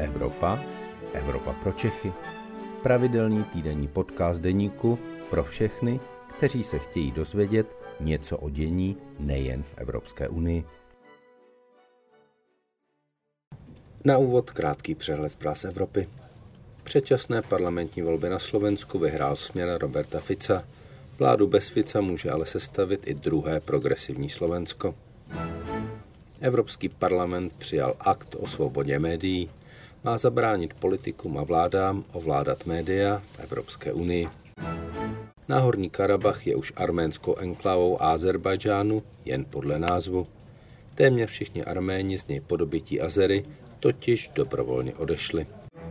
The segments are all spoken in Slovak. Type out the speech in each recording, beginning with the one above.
Evropa, Evropa pro Čechy. Pravidelný týdenní podcast deníku pro všechny, kteří se chtějí dozvědět něco o dění nejen v Evropské unii. Na úvod krátký přehled zpráv z Evropy. Předčasné parlamentní volby na Slovensku vyhrál směr Roberta Fica. Vládu bez Fica může ale sestavit i druhé progresivní Slovensko. Evropský parlament přijal akt o svobodě médií. Má zabránit politikům a vládám ovládat média v Evropské unii. Náhorní Karabach je už arménskou enklávou Ázerbájdžánu jen podle názvu. Téměř všichni Arméni z něj po dobytí Azery totiž dobrovolně odešli.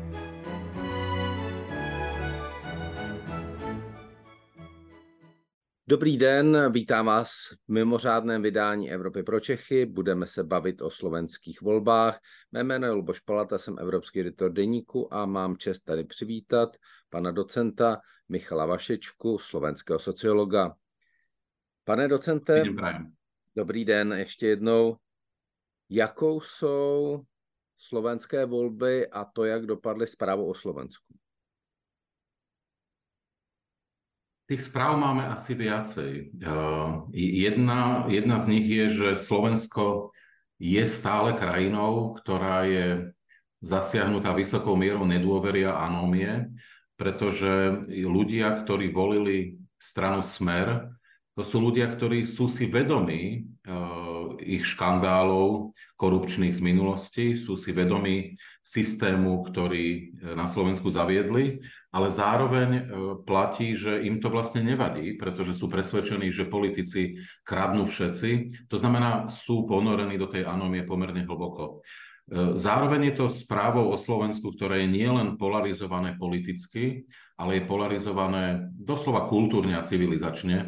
Dobrý den, vítám vás v mimořádném vydání Evropy pro Čechy. Budeme se bavit o slovenských volbách. Mé jméno je Luboš Palata, jsem evropský editor deníku a mám čest tady přivítat pana docenta Michala Vašečku, slovenského sociologa. Pane docente, dobrý den ještě jednou. Jakou jsou slovenské volby a to, jak dopadly zprávu o Slovensku? Tých správ máme asi viacej. Jedna z nich je, že Slovensko je stále krajinou, ktorá je zasiahnutá vysokou mierou nedôvery a anómie, pretože ľudia, ktorí volili stranu Smer, to sú ľudia, ktorí sú si vedomí ich škandálov korupčných z minulosti, sú si vedomí systému, ktorý na Slovensku zaviedli, ale zároveň platí, že im to vlastne nevadí, pretože sú presvedčení, že politici kradnú všetci. To znamená, sú ponorení do tej anómie pomerne hlboko. Zároveň je to správou o Slovensku, ktoré je nielen polarizované politicky, ale je polarizované doslova kultúrne a civilizačne,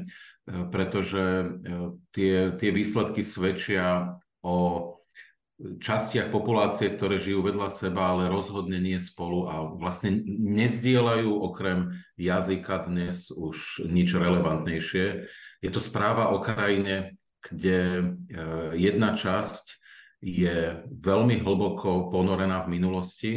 pretože tie výsledky svedčia o častiach populácie, ktoré žijú vedľa seba, ale rozhodne nie spolu a vlastne nezdieľajú okrem jazyka dnes už nič relevantnejšie. Je to správa o krajine, kde jedna časť je veľmi hlboko ponorená v minulosti,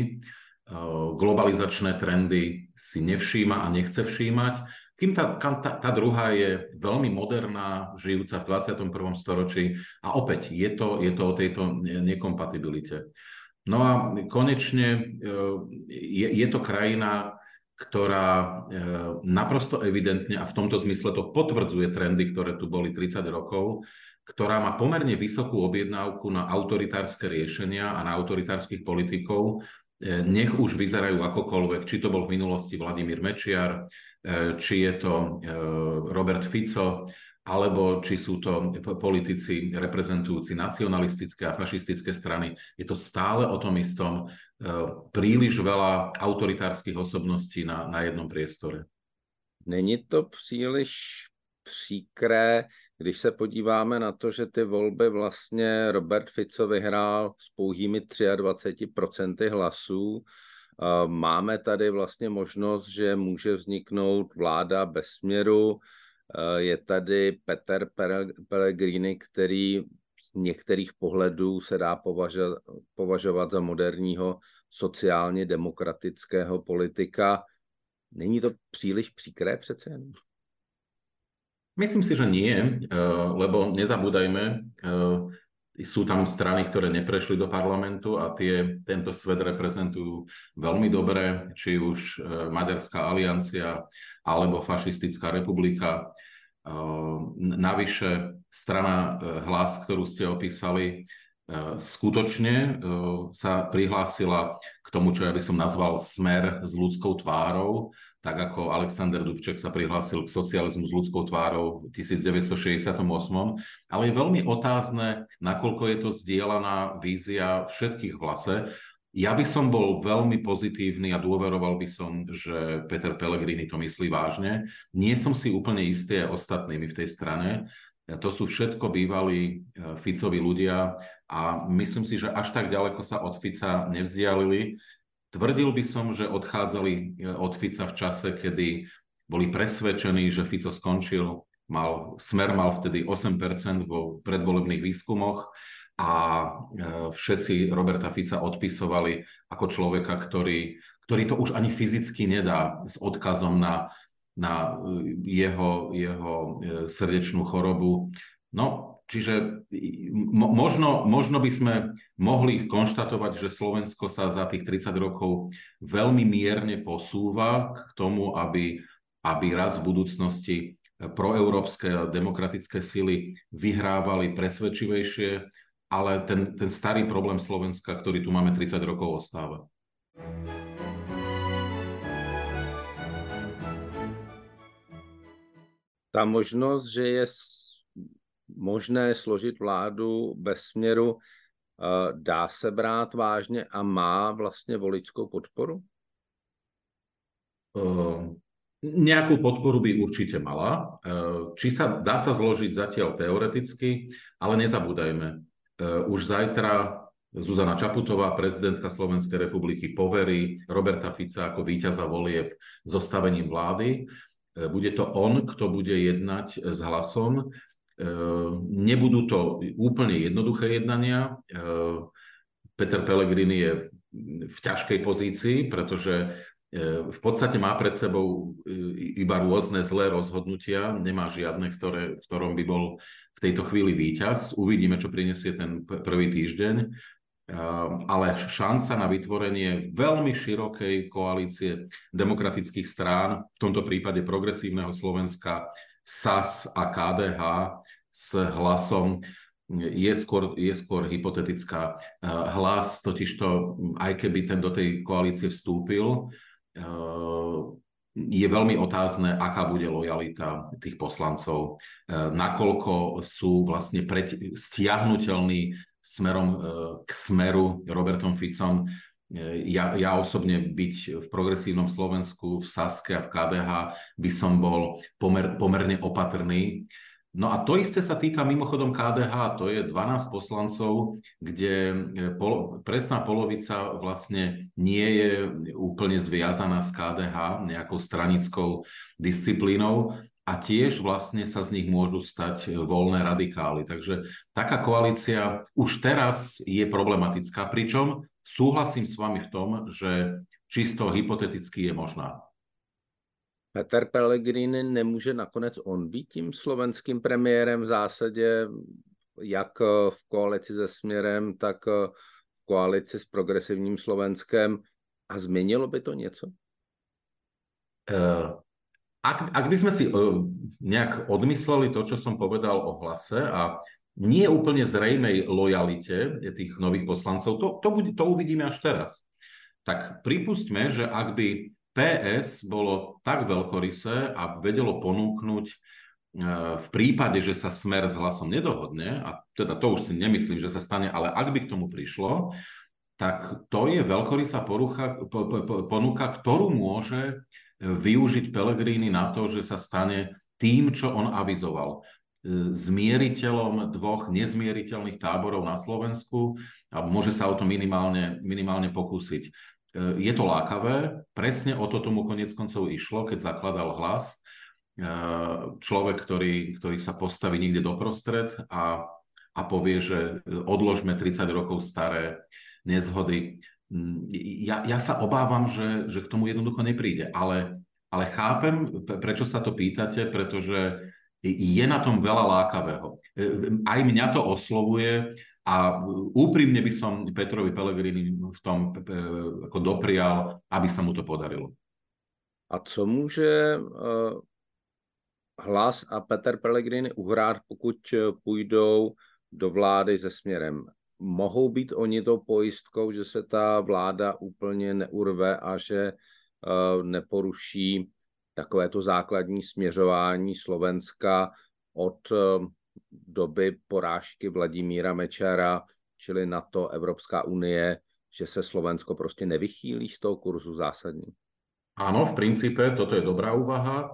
globalizačné trendy si nevšíma a nechce všímať, kým tá druhá je veľmi moderná, žijúca v 21. storočí a opäť je to o tejto nekompatibilite. No a konečne je to krajina, ktorá naprosto evidentne, a v tomto zmysle to potvrdzuje trendy, ktoré tu boli 30 rokov, ktorá má pomerne vysokú objednávku na autoritárske riešenia a na autoritárskych politikov, nech už vyzerajú akokoľvek, či to bol v minulosti Vladimír Mečiar, či je to Robert Fico, alebo či sú to politici reprezentujúci nacionalistické a fašistické strany. Je to stále o tom istom, príliš veľa autoritárskych osobností na jednom priestore. Není to příliš příkré, když se podíváme na to, že ty volby vlastně Robert Fico vyhrál s pouhými 23% hlasů. Máme tady vlastně možnost, že může vzniknout vláda bez směru. Je tady Peter Pellegrini, který z některých pohledů se dá považovat za moderního sociálně demokratického politika. Není to příliš příkré přece jen? Myslím si, že nie, lebo nezabúdajme, sú tam strany, ktoré neprešli do parlamentu a tento svet reprezentujú veľmi dobre, či už Maďarská aliancia alebo Fašistická republika. Navyše strana Hlas, ktorú ste opísali, skutočne sa prihlásila k tomu, čo ja by som nazval smer s ľudskou tvárou, tak ako Alexander Dubček sa prihlásil k socializmu s ľudskou tvárou v 1968. Ale je veľmi otázne, nakoľko je to zdieľaná vízia všetkých v Hlase. Ja by som bol veľmi pozitívny a dôveroval by som, že Peter Pellegrini to myslí vážne. Nie som si úplne istý aj ostatnými v tej strane. To sú všetko bývalí Ficovi ľudia a myslím si, že až tak ďaleko sa od Fica nevzdialili. Tvrdil by som, že odchádzali od Fica v čase, kedy boli presvedčení, že Fico skončil. Smer mal vtedy 8% vo predvolebných výskumoch a všetci Roberta Fica odpisovali ako človeka, ktorý to už ani fyzicky nedá s odkazom na jeho srdečnú chorobu. No, čiže možno by sme mohli konštatovať, že Slovensko sa za tých 30 rokov veľmi mierne posúva k tomu, aby raz v budúcnosti proeurópske demokratické sily vyhrávali presvedčivejšie, ale ten starý problém Slovenska, ktorý tu máme 30 rokov, ostáva. Ta možnost, že je možné složit vládu bez směru, dá se brát vážně a má vlastně voličskou podporu? Nejakú podporu by určite mala. Dá sa zložiť zatiaľ teoreticky, ale nezabúdajme. Už zajtra Zuzana Čaputová, prezidentka Slovenskej republiky, poverí Roberta Fica ako víťaza volieb zostavením vlády. Bude to on, kto bude jednať s Hlasom. Nebudú to úplne jednoduché jednania. Peter Pellegrini je v ťažkej pozícii, pretože v podstate má pred sebou iba rôzne zlé rozhodnutia, nemá žiadne, v ktorom by bol v tejto chvíli víťaz. Uvidíme, čo prinesie ten prvý týždeň. Ale šanca na vytvorenie veľmi širokej koalície demokratických strán, v tomto prípade Progresívneho Slovenska, SAS a KDH s Hlasom, je skôr hypotetická. Hlas totižto, aj keby ten do tej koalície vstúpil, je veľmi otázne, aká bude lojalita tých poslancov, nakoľko sú vlastne stiahnuteľní smerom k Smeru Robertom Ficom. Ja osobne byť v Progresívnom Slovensku, v Saske a v KDH by som bol pomerne opatrný. No a to isté sa týka mimochodom KDH, to je 12 poslancov, kde presná polovica vlastne nie je úplne zviazaná s KDH nejakou stranickou disciplínou a tiež vlastne sa z nich môžu stať voľné radikály. Takže taká koalícia už teraz je problematická, pričom súhlasím s vami v tom, že čisto hypoteticky je možná. Peter Pellegrini nemůže nakonec on být tím slovenským premiérem v zásadě, jak v koalici se Směrem, tak v koalici s Progresivním Slovenskem, a změnilo by to něco? Ak by sme si nejak odmysleli to, čo som povedal o Hlase a nie úplne zrejmej lojalite tých nových poslancov, to uvidíme až teraz. Tak pripustme, že ak by PS bolo tak veľkorysé a vedelo ponúknuť v prípade, že sa Smer s Hlasom nedohodne, a teda to už si nemyslím, že sa stane, ale ak by k tomu prišlo, tak to je veľkorysá ponuka, ktorú môže využiť Pellegrini na to, že sa stane tým, čo on avizoval. Zmieriteľom dvoch nezmieriteľných táborov na Slovensku a môže sa o to minimálne pokúsiť. Je to lákavé, presne o to tomu koniec koncov išlo, keď zakladal Hlas. Človek, ktorý sa postaví niekde doprostred a povie, že odložme 30 rokov staré nezhody. Ja sa obávam, že k tomu jednoducho nepríde, ale chápem, prečo sa to pýtate, pretože je na tom veľa lákavého. Aj mňa to oslovuje a úprimne by som Petrovi Pellegrini v tom ako doprial, aby sa mu to podarilo. A co může Hlas a Peter Pellegrini uhrát, pokud půjdou do vlády se Směrem? Mohou být oni tou pojistkou, že se ta vláda úplně neurve a že neporuší takovéto základní směřování Slovenska od doby porážky Vladimíra Mečera, čili NATO, Evropská unie, že se Slovensko prostě nevychýlí z toho kurzu zásadní? Áno, v princípe, toto je dobrá úvaha.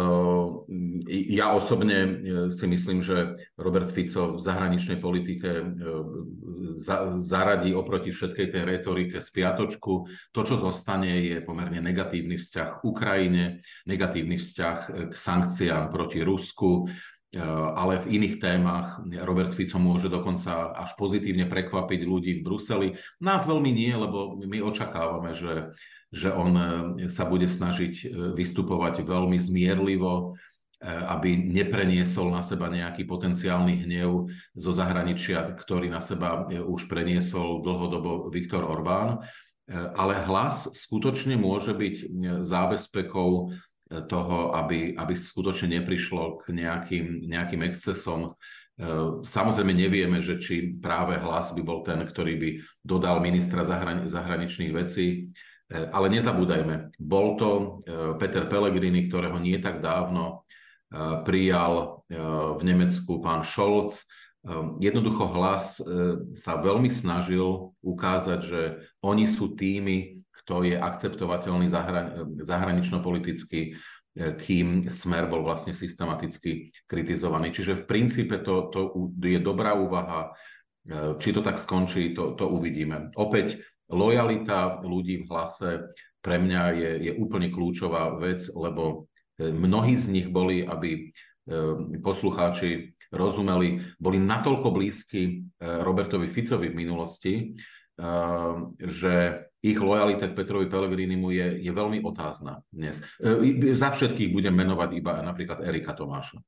Ja osobne si myslím, že Robert Fico v zahraničnej politike zaradí oproti všetkej tej retorike spiatočku. To, čo zostane, je pomerne negatívny vzťah k Ukrajine, negatívny vzťah k sankciám proti Rusku. ale v iných témach Robert Fico môže dokonca až pozitívne prekvapiť ľudí v Bruseli. Nás veľmi nie, lebo my očakávame, že on sa bude snažiť vystupovať veľmi zmierlivo, aby nepreniesol na seba nejaký potenciálny hnev zo zahraničia, ktorý na seba už preniesol dlhodobo Viktor Orbán. Ale Hlas skutočne môže byť zábezpekou toho, aby skutočne neprišlo k nejakým excesom. Samozrejme nevieme, že či práve Hlas by bol ten, ktorý by dodal ministra zahraničných vecí, ale nezabúdajme, bol to Peter Pellegrini, ktorého nie tak dávno prijal v Nemecku pán Scholz. Jednoducho Hlas sa veľmi snažil ukázať, že oni sú tými, kto je akceptovateľný zahranično-politicky, kým Smer bol vlastne systematicky kritizovaný. Čiže v princípe to je dobrá úvaha. Či to tak skončí, to uvidíme. Opäť, lojalita ľudí v Hlase pre mňa je úplne kľúčová vec, lebo mnohí z nich boli, aby poslucháči rozumeli, boli natoľko blízki Robertovi Ficovi v minulosti, že ich lojalita k Petrovi Pellegrinimu je veľmi otázna dnes. Za všetkých budem menovať iba napríklad Erika Tomáša.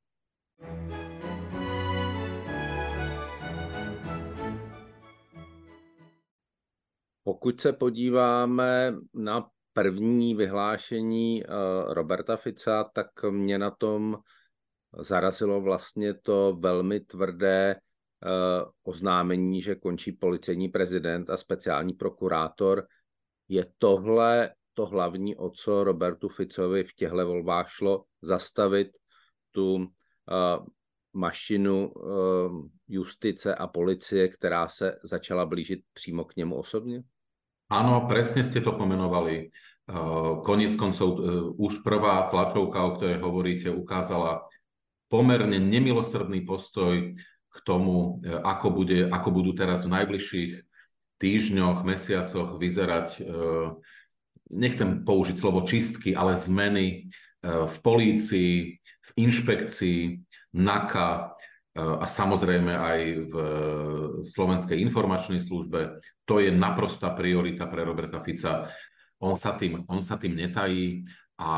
Pokud se podíváme na první vyhlášení Roberta Fica, tak mě na tom zarazilo vlastně to velmi tvrdé oznámení, že končí policejní prezident a speciální prokurátor. Je tohle to hlavní, o co Robertu Ficovi v těchto volbách šlo, zastavit tu mašinu justice a policie, která se začala blížit přímo k němu osobně? Áno, presne ste to pomenovali. Koniec koncov už prvá tlačovka, o ktorej hovoríte, ukázala pomerne nemilosrdný postoj k tomu, ako budú teraz v najbližších týždňoch, mesiacoch vyzerať, nechcem použiť slovo čistky, ale zmeny v polícii, v inšpekcii, NAKA a samozrejme aj v Slovenskej informačnej službe. To je naprostá priorita pre Roberta Fica. On sa tým netají a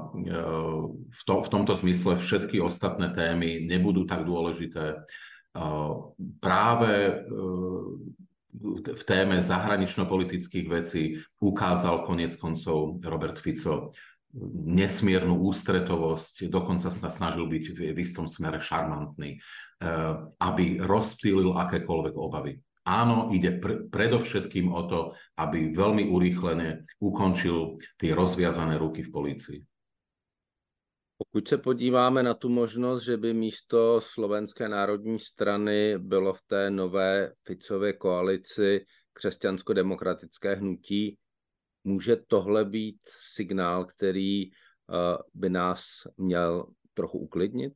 v tomto zmysle všetky ostatné témy nebudú tak dôležité. Práve v téme zahranično-politických vecí ukázal koniec koncov Robert Fico nesmiernu ústretovosť, dokonca sa snažil byť v istom smere šarmantný, aby rozptýlil akékoľvek obavy. Áno, ide predovšetkým o to, aby veľmi urýchlene ukončil tie rozviazané ruky v polícii. Pokud se podíváme na tu možnost, že by místo Slovenské národní strany bylo v té nové Ficově koalici křesťansko-demokratické hnutí, může tohle být signál, který by nás měl trochu uklidnit?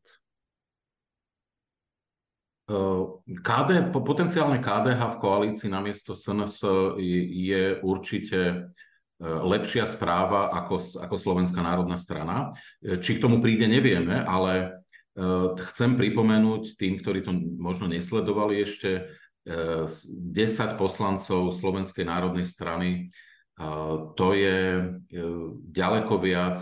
Potenciálne KDH v koalícii namiesto SNS je určite lepšia správa ako Slovenská národná strana. Či k tomu príde, nevieme, ale chcem pripomenúť tým, ktorí to možno nesledovali ešte, 10 poslancov Slovenskej národnej strany. To je ďaleko viac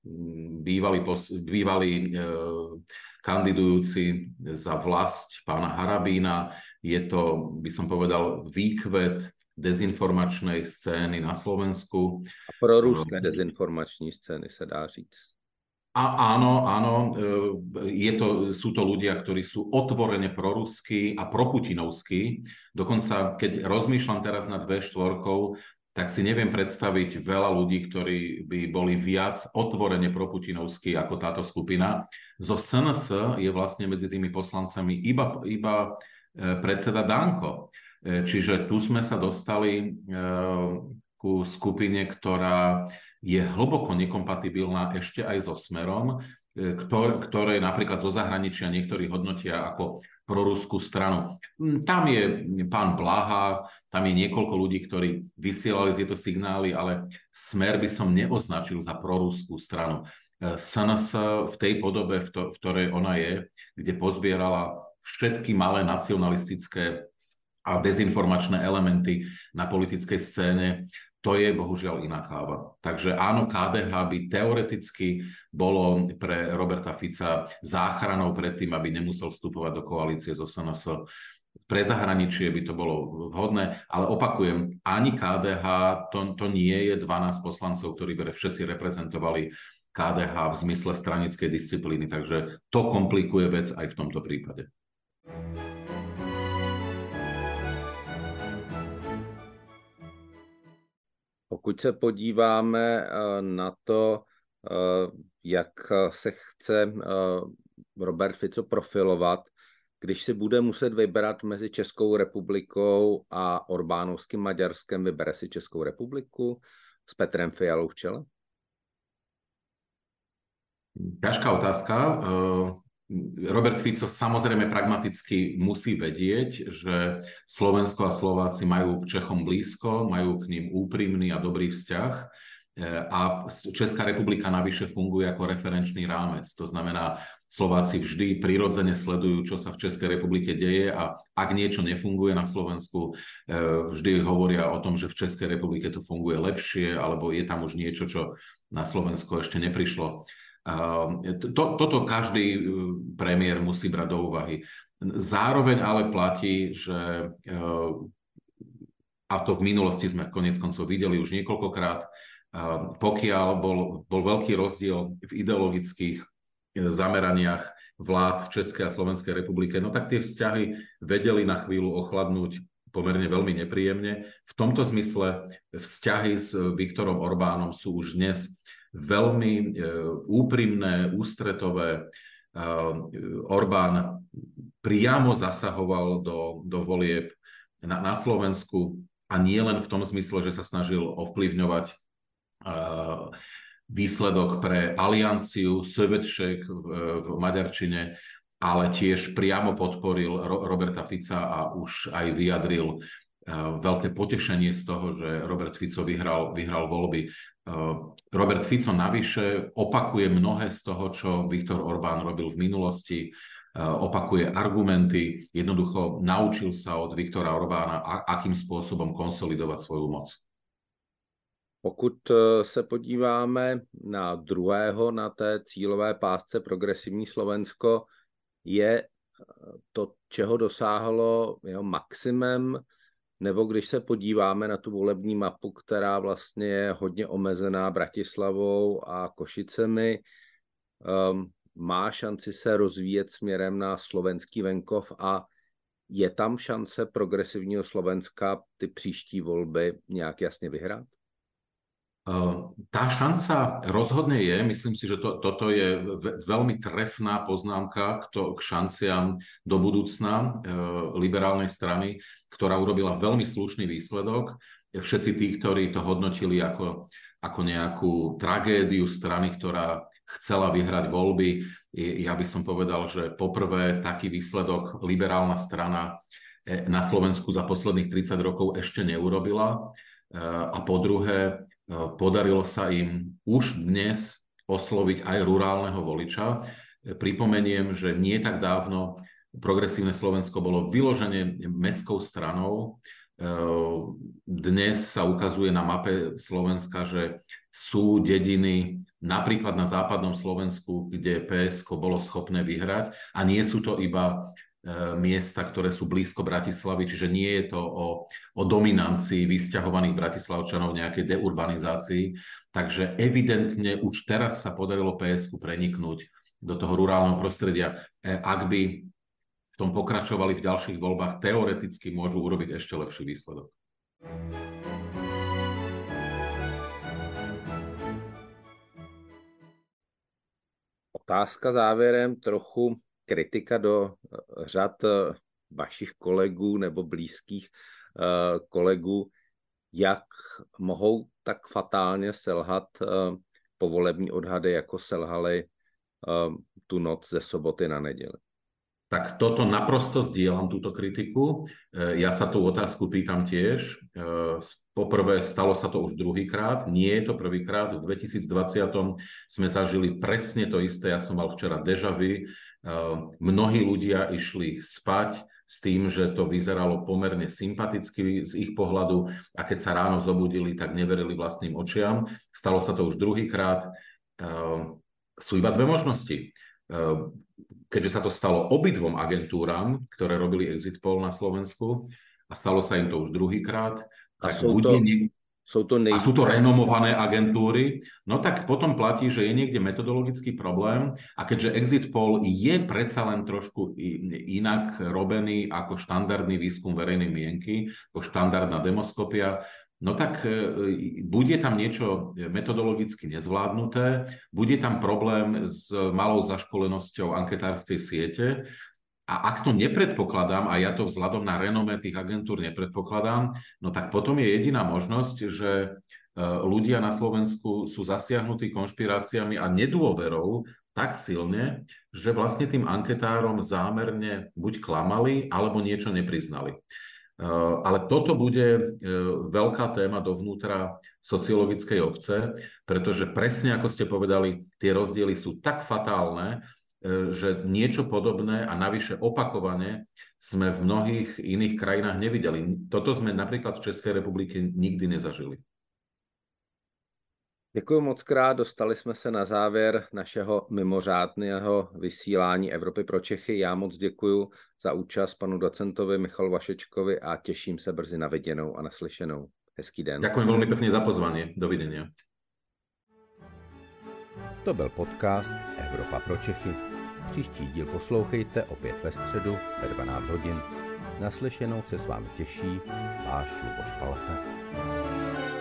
bývalí kandidujúci za vlast pána Harabína. Je to, by som povedal, výkvet dezinformačnej scény na Slovensku. A proruské dezinformační scény se dá říct. Áno, sú to ľudia, ktorí sú otvorene proruskí a proputinovskí. Dokonca, keď rozmýšľam teraz nad V4, tak si neviem predstaviť veľa ľudí, ktorí by boli viac otvorene proputinovskí ako táto skupina. Zo SNS je vlastne medzi tými poslancami iba predseda Danko. Čiže tu sme sa dostali ku skupine, ktorá je hlboko nekompatibilná ešte aj so Smerom, ktoré napríklad zo zahraničia niektorí hodnotia ako proruskú stranu. Tam je pán Blaha, tam je niekoľko ľudí, ktorí vysielali tieto signály, ale Smer by som neoznačil za proruskú stranu. SNS v tej podobe, v ktorej ona je, kde pozbierala všetky malé nacionalistické a dezinformačné elementy na politickej scéne, to je bohužiaľ iná káva. Takže áno, KDH by teoreticky bolo pre Roberta Fica záchranou pred tým, aby nemusel vstupovať do koalície so SNS. Pre zahraničie by to bolo vhodné, ale opakujem, ani KDH to nie je 12 poslancov, ktorí by všetci reprezentovali KDH v zmysle stranickej disciplíny, takže to komplikuje vec aj v tomto prípade. Pokud se podíváme na to, jak se chce Robert Fico profilovat, když si bude muset vybrat mezi Českou republikou a Orbánovským Maďarskem, vybere si Českou republiku s Petrem Fialou v čele? Ťažká otázka. Robert Fico samozrejme pragmaticky musí vedieť, že Slovensko a Slováci majú k Čechom blízko, majú k ním úprimný a dobrý vzťah a Česká republika navyše funguje ako referenčný rámec. To znamená, Slováci vždy prirodzene sledujú, čo sa v Českej republike deje a ak niečo nefunguje na Slovensku, vždy hovoria o tom, že v Českej republike to funguje lepšie alebo je tam už niečo, čo na Slovensko ešte neprišlo. Toto každý premiér musí brať do úvahy. Zároveň ale platí, že a to v minulosti sme koniec koncov videli už niekoľkokrát, pokiaľ bol veľký rozdiel v ideologických zameraniach vlád v Českej a Slovenskej republike, no tak tie vzťahy vedeli na chvíľu ochladnúť pomerne veľmi nepríjemne. V tomto zmysle vzťahy s Viktorom Orbánom sú už dnes veľmi úprimné, ústretové. Orbán priamo zasahoval do volieb na Slovensku a nie len v tom zmysle, že sa snažil ovplyvňovať výsledok pre alianciu Szövetség v maďarčine, ale tiež priamo podporil Roberta Fica a už aj vyjadril veľké potešenie z toho, že Robert Fico vyhral voľby. Robert Fico navyše opakuje mnohé z toho, čo Viktor Orbán robil v minulosti, opakuje argumenty, jednoducho naučil sa od Viktora Orbána, akým spôsobom konsolidovať svoju moc. Pokud se podíváme na druhého, na té cílové pásce Progresivní Slovensko, je to, čeho dosáhlo jeho maximum, nebo když se podíváme na tu volební mapu, která vlastně je hodně omezená Bratislavou a Košicemi, má šanci se rozvíjet směrem na slovenský venkov a je tam šance Progresivního Slovenska ty příští volby nějak jasně vyhrát? Tá šanca rozhodne je, myslím si, že toto je veľmi trefná poznámka k šanciam do budúcna liberálnej strany, ktorá urobila veľmi slušný výsledok. Všetci tí, ktorí to hodnotili ako nejakú tragédiu strany, ktorá chcela vyhrať voľby, ja by som povedal, že poprvé taký výsledok liberálna strana na Slovensku za posledných 30 rokov ešte neurobila a po druhé podarilo sa im už dnes osloviť aj rurálneho voliča. Pripomeniem, že nie tak dávno Progresívne Slovensko bolo vyložene mestskou stranou. Dnes sa ukazuje na mape Slovenska, že sú dediny napríklad na západnom Slovensku, kde PSK bolo schopné vyhrať a nie sú to iba miesta, ktoré sú blízko Bratislavy, čiže nie je to o dominancii vysťahovaných Bratislavčanov, nejakej deurbanizácii. Takže evidentne už teraz sa podarilo PSK preniknúť do toho rurálneho prostredia. Ak by v tom pokračovali v ďalších voľbách, teoreticky môžu urobiť ešte lepší výsledok. Otázka závěrem, trochu kritika do řad vašich kolegů nebo blízkých kolegů, jak mohou tak fatálně selhat povolební odhady, jako selhaly tu noc ze soboty na neděli? Tak toto naprosto zdieľam, túto kritiku. Ja sa tú otázku pýtam tiež. Poprvé, stalo sa to už druhýkrát, nie je to prvýkrát. V 2020 sme zažili presne to isté. Ja som mal včera déjà vu. Mnohí ľudia išli spať s tým, že to vyzeralo pomerne sympaticky z ich pohľadu a keď sa ráno zobudili, tak neverili vlastným očiam. Stalo sa to už druhýkrát. Sú iba dve možnosti. Keďže sa to stalo obidvom agentúram, ktoré robili exit poll na Slovensku a stalo sa im to už druhýkrát, tak a sú to renomované agentúry, no tak potom platí, že je niekde metodologický problém a keďže exit poll je predsa len trošku inak robený ako štandardný výskum verejnej mienky, ako štandardná demoskopia, no tak bude tam niečo metodologicky nezvládnuté, bude tam problém s malou zaškolenosťou anketárskej siete a ak to nepredpokladám, a ja to vzhľadom na renomé tých agentúr nepredpokladám, no tak potom je jediná možnosť, že ľudia na Slovensku sú zasiahnutí konšpiráciami a nedôverou tak silne, že vlastne tým anketárom zámerne buď klamali, alebo niečo nepriznali. Ale toto bude veľká téma dovnútra sociologickej obce, pretože presne ako ste povedali, tie rozdiely sú tak fatálne, že niečo podobné a navyše opakovane sme v mnohých iných krajinách nevideli. Toto sme napríklad v Českej republike nikdy nezažili. Děkuji moc krát, dostali jsme se na závěr našeho mimořádného vysílání Evropy pro Čechy. Já moc děkuji za účast panu docentovi Michalu Vašečkovi a těším se brzy na viděnou a naslyšenou. Hezký den. Ďakujem veľmi pekne za pozvanie. Dovidenia. To byl podcast Evropa pro Čechy. Příští díl poslouchejte opět ve středu ve 12 hodin. Naslyšenou se s vámi těší váš Luboš Palata.